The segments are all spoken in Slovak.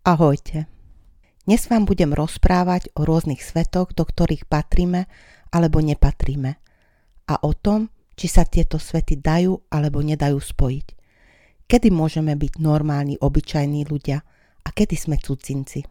Ahojte. Dnes vám budem rozprávať o rôznych svetoch, do ktorých patríme alebo nepatríme a o tom, či sa tieto svety dajú alebo nedajú spojiť. Kedy môžeme byť normálni, obyčajní ľudia a kedy sme cudzinci.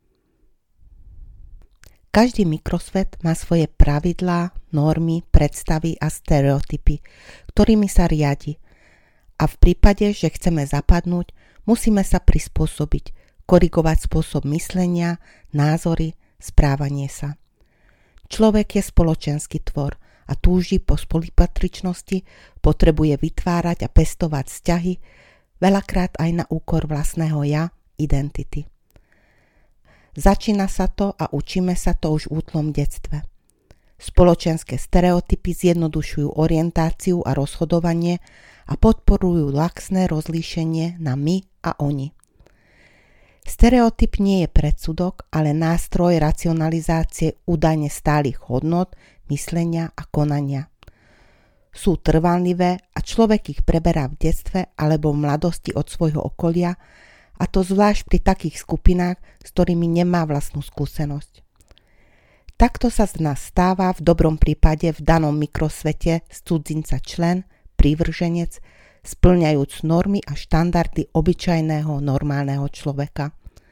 Každý mikrosvet má svoje pravidlá, normy, predstavy a stereotypy, ktorými sa riadi. A v prípade, že chceme zapadnúť, musíme sa prispôsobiť, korigovať spôsob myslenia, názory, správanie sa. Človek je spoločenský tvor a túži po spolupatričnosti, potrebuje vytvárať a pestovať vzťahy, veľakrát aj na úkor vlastného ja, identity. Začína sa to a učíme sa to už v útlom detstve. Spoločenské stereotypy zjednodušujú orientáciu a rozhodovanie a podporujú laxné rozlíšenie na my a oni. Stereotyp nie je predsudok, ale nástroj racionalizácie údajne stálych hodnôt, myslenia a konania. Sú trvanlivé a človek ich preberá v detstve alebo v mladosti od svojho okolia, a to zvlášť pri takých skupinách, s ktorými nemá vlastnú skúsenosť. Takto sa z nás stáva v dobrom prípade v danom mikrosvete z cudzinca člen, prívrženec, spĺňajúc normy a štandardy obyčajného normálneho človeka.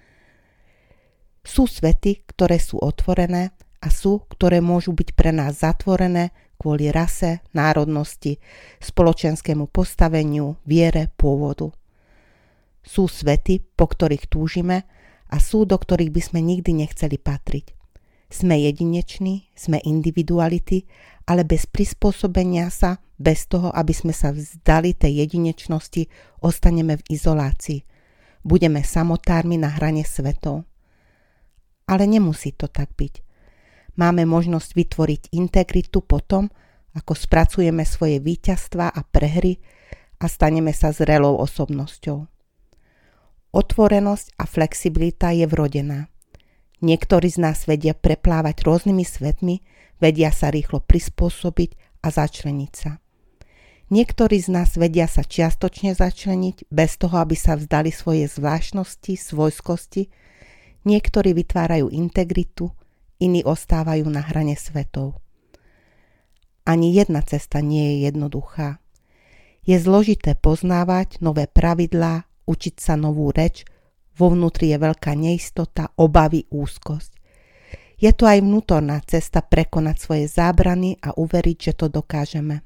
Sú svety, ktoré sú otvorené a sú, ktoré môžu byť pre nás zatvorené kvôli rase, národnosti, spoločenskému postaveniu, viere, pôvodu. Sú svety, po ktorých túžime a sú, do ktorých by sme nikdy nechceli patriť. Sme jedineční, sme individuality, ale bez prispôsobenia sa, bez toho, aby sme sa vzdali tej jedinečnosti, ostaneme v izolácii. Budeme samotármi na hrane svetov. Ale nemusí to tak byť. Máme možnosť vytvoriť integritu potom, ako spracujeme svoje víťazstvá a prehry a staneme sa zrelou osobnosťou. Otvorenosť a flexibilita je vrodená. Niektorí z nás vedia preplávať rôznymi svetmi, vedia sa rýchlo prispôsobiť a začleniť sa. Niektorí z nás vedia sa čiastočne začleniť bez toho, aby sa vzdali svoje zvláštnosti, svojskosti. Niektorí vytvárajú integritu, iní ostávajú na hrane svetov. Ani jedna cesta nie je jednoduchá. Je zložité poznávať nové pravidlá, učiť sa novú reč, vo vnútri je veľká neistota, obavy, úzkosť. Je to aj vnútorná cesta prekonať svoje zábrany a uveriť, že to dokážeme.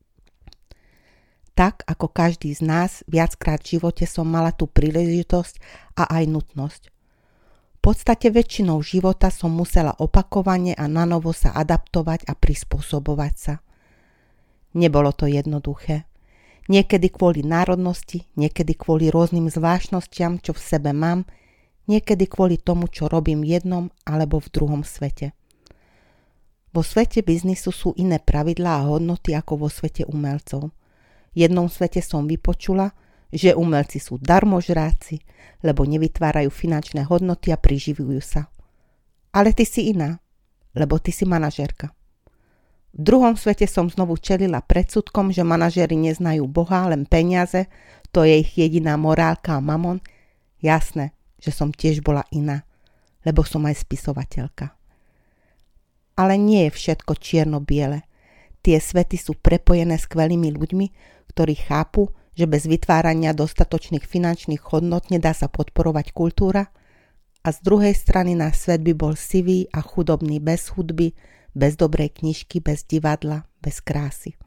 Tak ako každý z nás, viackrát v živote som mala tú príležitosť a aj nutnosť. V podstate väčšinou života som musela opakovane a nanovo sa adaptovať a prispôsobovať sa. Nebolo to jednoduché. Niekedy kvôli národnosti, niekedy kvôli rôznym zvláštnostiam, čo v sebe mám, niekedy kvôli tomu, čo robím v jednom alebo v druhom svete. Vo svete biznisu sú iné pravidlá a hodnoty ako vo svete umelcov. V jednom svete som vypočula, že umelci sú darmožráci, lebo nevytvárajú finančné hodnoty a priživujú sa. Ale ty si iná, lebo ty si manažérka. V druhom svete som znovu čelila predsudkom, že manažéri neznajú Boha, len peniaze, to je ich jediná morálka a mamon. Jasné, že som tiež bola iná, lebo som aj spisovateľka. Ale nie je všetko čierno-biele. Tie svety sú prepojené skvelými ľuďmi, ktorí chápu, že bez vytvárania dostatočných finančných hodnot nedá sa podporovať kultúra a z druhej strany náš svet by bol sivý a chudobný bez hudby, bez dobrej knižky, bez divadla, bez krásy.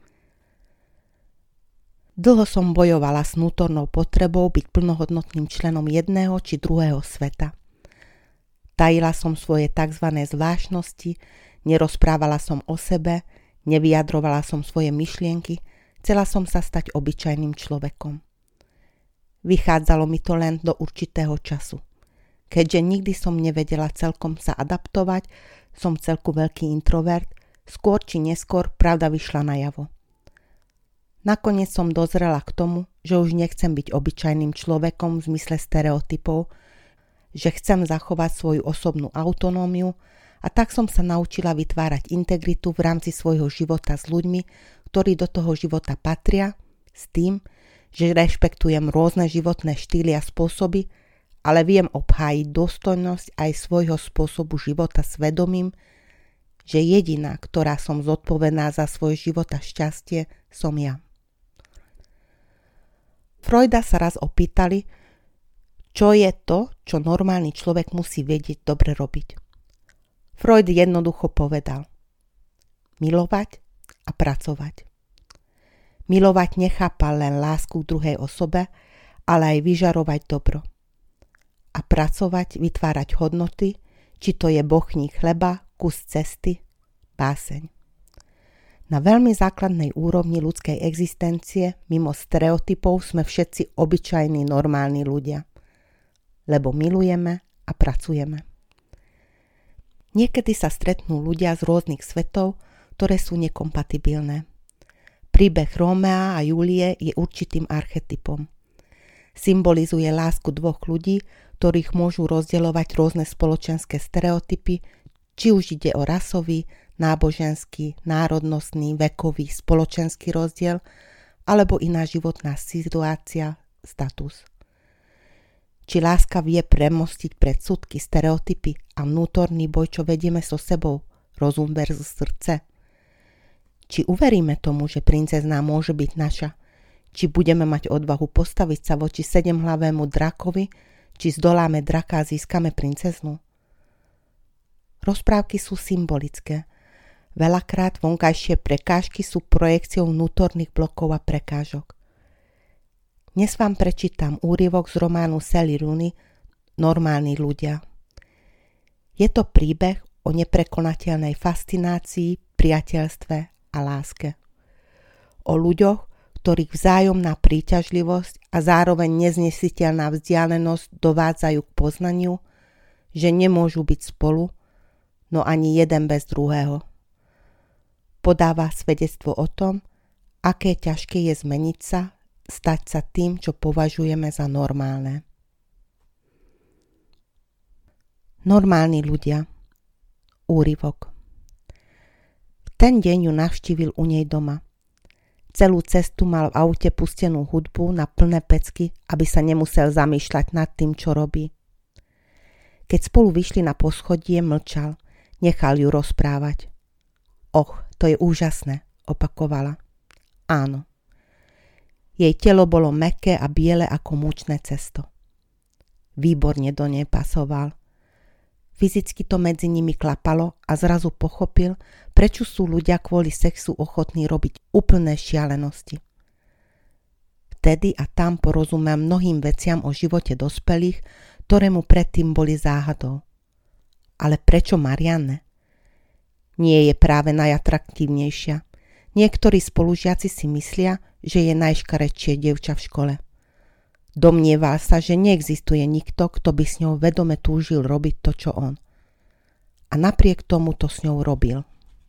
Dlho som bojovala s vnútornou potrebou byť plnohodnotným členom jedného či druhého sveta. Tajila som svoje tzv. Zvláštnosti, nerozprávala som o sebe, nevyjadrovala som svoje myšlienky, chcela som sa stať obyčajným človekom. Vychádzalo mi to len do určitého času. Keďže nikdy som nevedela celkom sa adaptovať, som celku veľký introvert, skôr či neskôr pravda vyšla najavo. Nakoniec som dozrela k tomu, že už nechcem byť obyčajným človekom v zmysle stereotypov, že chcem zachovať svoju osobnú autonómiu a tak som sa naučila vytvárať integritu v rámci svojho života s ľuďmi, ktorí do toho života patria, s tým, že rešpektujem rôzne životné štýly a spôsoby ale viem obhájiť dôstojnosť aj svojho spôsobu života svedomím, že jediná, ktorá som zodpovedná za svoj život a šťastie, som ja. Freuda sa raz opýtali, čo je to, čo normálny človek musí vedieť dobre robiť. Freud jednoducho povedal: milovať a pracovať. Milovať nechápa len lásku k druhej osobe, ale aj vyžarovať dobro. A pracovať, vytvárať hodnoty, či to je bochník chleba, kus cesty, báseň. Na veľmi základnej úrovni ľudskej existencie, mimo stereotypov, sme všetci obyčajní normálni ľudia. Lebo milujeme a pracujeme. Niekedy sa stretnú ľudia z rôznych svetov, ktoré sú nekompatibilné. Príbeh Rómea a Júlie je určitým archetypom. Symbolizuje lásku dvoch ľudí, ktorých môžu rozdeľovať rôzne spoločenské stereotypy, či už ide o rasový, náboženský, národnostný, vekový, spoločenský rozdiel, alebo iná životná situácia, status. Či láska vie premostiť predsudky, stereotypy a vnútorný boj, čo vedieme so sebou, rozum versus srdce. Či uveríme tomu, že princezná môže byť naša, či budeme mať odvahu postaviť sa voči sedemhlavému drakovi, či zdoláme draka a získame princeznú. Rozprávky sú symbolické. Veľakrát vonkajšie prekážky sú projekciou vnútorných blokov a prekážok. Dnes vám prečítam úryvok z románu Sally Rooney Normálni ľudia. Je to príbeh o neprekonateľnej fascinácii, priateľstve a láske. O ľuďoch, ktorých vzájomná príťažlivosť a zároveň neznesiteľná vzdialenosť dovádzajú k poznaniu, že nemôžu byť spolu, no ani jeden bez druhého. Podáva svedectvo o tom, aké ťažké je zmeniť sa, stať sa tým, čo považujeme za normálne. Normálni ľudia. Úryvok. V ten deň ju navštívil u nej doma. Celú cestu mal v aute pustenú hudbu na plné pecky, aby sa nemusel zamýšľať nad tým, čo robí. Keď spolu vyšli na poschodie, mlčal. Nechal ju rozprávať. Och, to je úžasné, opakovala. Áno. Jej telo bolo mäkké a biele ako múčne cesto. Výborne do nej pasoval. Fyzicky to medzi nimi klapalo a zrazu pochopil, prečo sú ľudia kvôli sexu ochotní robiť úplné šialenosti. Vtedy a tam porozumel mnohým veciam o živote dospelých, ktoré mu predtým boli záhadou. Ale prečo Marianne? Nie je práve najatraktívnejšia. Niektorí spolužiaci si myslia, že je najškarečšie dievča v škole. Domnieval sa, že neexistuje nikto, kto by s ňou vedome túžil robiť to, čo on. A napriek tomu to s ňou robil.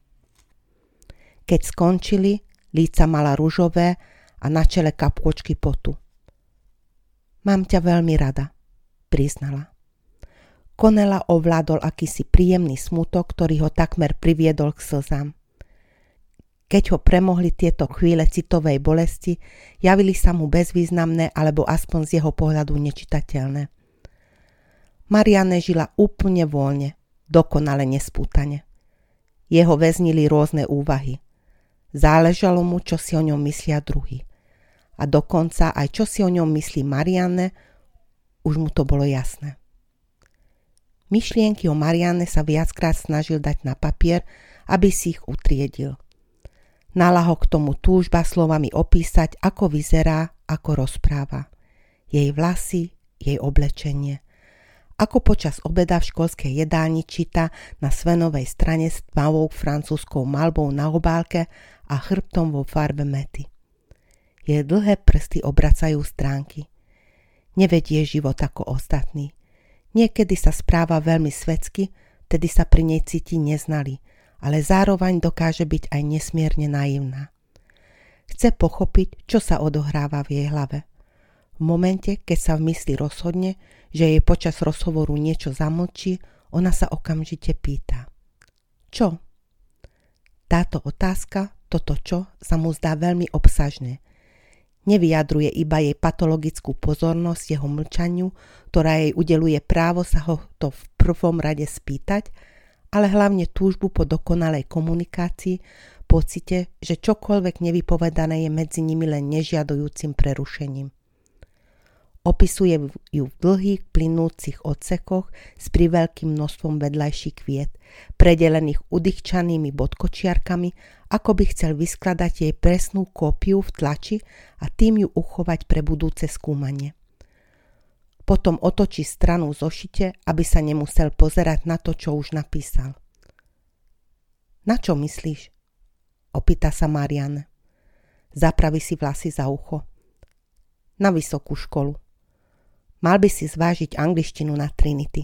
Keď skončili, líca mala ružové a na čele kapôčky potu. Mám ťa veľmi rada, priznala. Konela ovládol akýsi príjemný smutok, ktorý ho takmer priviedol k slzám. Keď ho premohli tieto chvíle citovej bolesti, javili sa mu bezvýznamné alebo aspoň z jeho pohľadu nečitateľné. Marianne žila úplne voľne, dokonale nespútane. Jeho väznili rôzne úvahy. Záležalo mu, čo si o ňom myslia druhí. A dokonca aj čo si o ňom myslí Marianne, už mu to bolo jasné. Myšlienky o Marianne sa viackrát snažil dať na papier, aby si ich utriedil. Nalaho k tomu túžba slovami opísať, ako vyzerá, ako rozpráva. Jej vlasy, jej oblečenie. Ako počas obeda v školskej jedálni číta na svenovej strane s tmavou francúzskou malbou na obálke a chrbtom vo farbe mäty. Jej dlhé prsty obracajú stránky. Nevedie život ako ostatní. Niekedy sa správa veľmi svetsky, tedy sa pri nej cíti neznalý, ale zároveň dokáže byť aj nesmierne naivná. Chce pochopiť, čo sa odohráva v jej hlave. V momente, keď sa v mysli rozhodne, že jej počas rozhovoru niečo zamlčí, ona sa okamžite pýta. Čo? Táto otázka, toto čo, sa mu zdá veľmi obsažné. Nevyjadruje iba jej patologickú pozornosť jeho mlčaniu, ktorá jej udeluje právo sa ho to v prvom rade spýtať, ale hlavne túžbu po dokonalej komunikácii, pocite, že čokoľvek nevypovedané je medzi nimi len nežiadujúcim prerušením. Opisuje ju v dlhých plynúcich odsekoch s priveľkým množstvom vedľajších kviet, predelených udýchčanými bodkočiarkami, ako by chcel vyskladať jej presnú kópiu v tlači a tým ju uchovať pre budúce skúmanie. Potom otočí stranu v zošite, aby sa nemusel pozerať na to, čo už napísal. Na čo myslíš? Opýta sa Marianne. Zapraví si vlasy za ucho. Na vysokú školu. Mal by si zvážiť angličtinu na Trinity.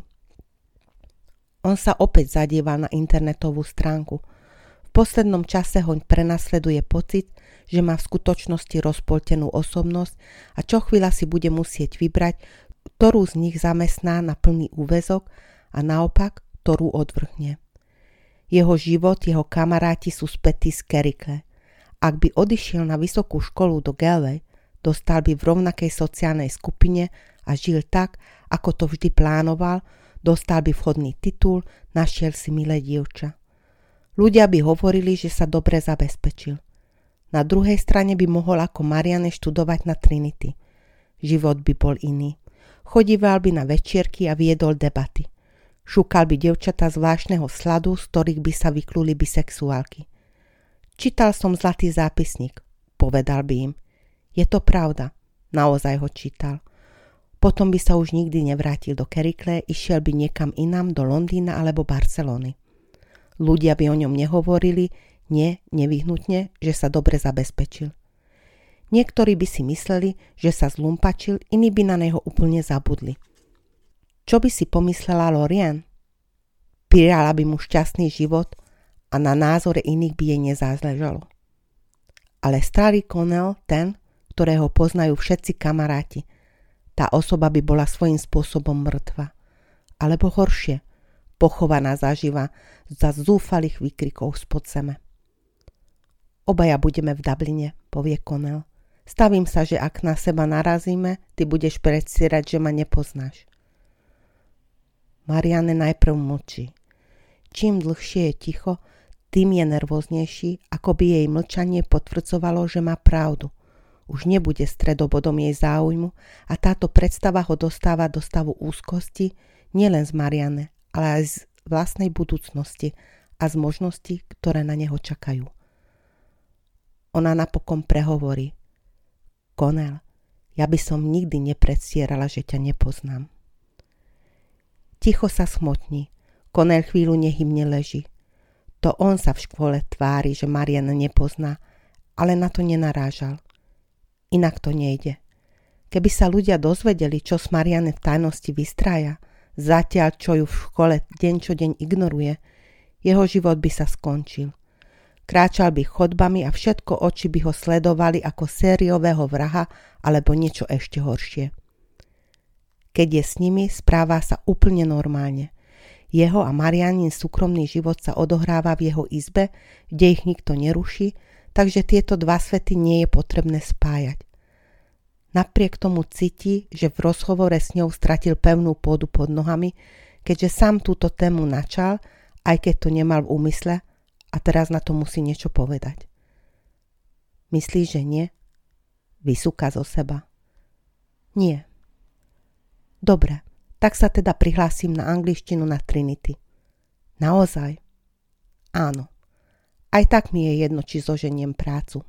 On sa opäť zadieval na internetovú stránku. V poslednom čase ho prenasleduje pocit, že má v skutočnosti rozpoltenú osobnosť a čo chvíľa si bude musieť vybrať, ktorú z nich zamestná na plný úväzok a naopak, ktorú odvrhne. Jeho život, jeho kamaráti sú spätí z Kerikle. Ak by odišiel na vysokú školu do Galway, dostal by v rovnakej sociálnej skupine a žil tak, ako to vždy plánoval, dostal by vhodný titul, našiel si milé dievča. Ľudia by hovorili, že sa dobre zabezpečil. Na druhej strane by mohol ako Marianne študovať na Trinity. Život by bol iný. Chodíval by na večierky a viedol debaty. Šúkal by dievčatá zvláštneho sladu, z ktorých by sa vykluli bisexuálky. Čítal som Zlatý zápisník, povedal by im. Je to pravda, naozaj ho čítal. Potom by sa už nikdy nevrátil do Kerikle, išiel by niekam inám, do Londýna alebo Barcelony. Ľudia by o ňom nehovorili, nevyhnutne, že sa dobre zabezpečil. Niektorí by si mysleli, že sa zlumpačil, iní by na neho úplne zabudli. Čo by si pomyslela Lorien? Prijala by mu šťastný život a na názore iných by jej nezáležalo. Ale starý Connell, ten, ktorého poznajú všetci kamaráti, tá osoba by bola svojím spôsobom mŕtva. Alebo horšie, pochovaná zaživa za zúfalých výkrikov spod zeme. Obaja budeme v Dubline, povie Connell. Stavím sa, že ak na seba narazíme, ty budeš predstierať, že ma nepoznáš. Marianne najprv mlčí. Čím dlhšie je ticho, tým je nervóznejší, ako by jej mlčanie potvrdzovalo, že má pravdu. Už nebude stredobodom jej záujmu a táto predstava ho dostáva do stavu úzkosti nielen z Marianne, ale aj z vlastnej budúcnosti a z možností, ktoré na neho čakajú. Ona napokon prehovorí. Connell, ja by som nikdy nepredstierala, že ťa nepoznám. Ticho sa smotní. Connell chvíľu nehybne leží. To on sa v škole tvári, že Marianne nepozná, ale na to nenarážal. Inak to nejde. Keby sa ľudia dozvedeli, čo s Marianne v tajnosti vystrája, zatiaľ čo ju v škole deň čo deň ignoruje, jeho život by sa skončil. Kráčal by chodbami a všetko oči by ho sledovali ako sériového vraha alebo niečo ešte horšie. Keď je s nimi, správa sa úplne normálne. Jeho a Mariannin súkromný život sa odohráva v jeho izbe, kde ich nikto neruší, takže tieto dva svety nie je potrebné spájať. Napriek tomu cíti, že v rozhovore s ňou stratil pevnú pôdu pod nohami, keďže sám túto tému načal, aj keď to nemal v úmysle a teraz na to musí niečo povedať. Myslíš, že nie? Vysúka zo seba. Nie. Dobre, tak sa teda prihlásim na angličtinu na Trinity. Naozaj? Áno. Aj tak mi je jedno, či zoženiem prácu.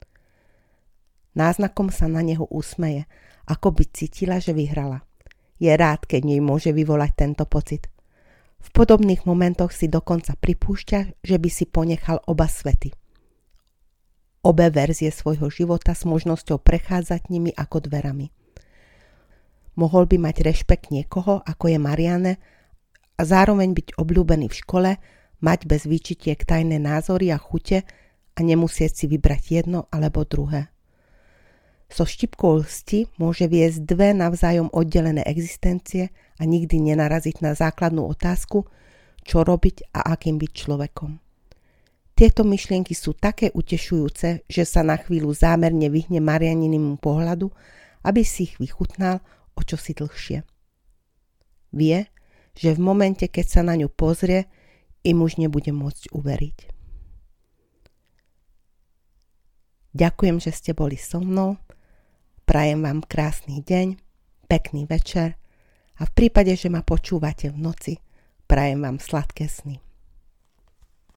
Náznakom sa na neho usmeje, ako by cítila, že vyhrala. Je rád, keď nej môže vyvolať tento pocit. V podobných momentoch si dokonca pripúšťa, že by si ponechal oba svety. Obe verzie svojho života s možnosťou prechádzať nimi ako dverami. Mohol by mať rešpekt niekoho, ako je Marianne, a zároveň byť obľúbený v škole, mať bez výčitiek tajné názory a chute a nemusieť si vybrať jedno alebo druhé. So štipkou lsti môže viesť dve navzájom oddelené existencie a nikdy nenaraziť na základnú otázku, čo robiť a akým byť človekom. Tieto myšlienky sú také utešujúce, že sa na chvíľu zámerne vyhne Marianinému pohľadu, aby si ich vychutnal o čosi dlhšie. Vie, že v momente, keď sa na ňu pozrie, im už nebude môcť uveriť. Ďakujem, že ste boli so mnou. Prajem vám krásny deň, pekný večer a v prípade, že ma počúvate v noci, prajem vám sladké sny.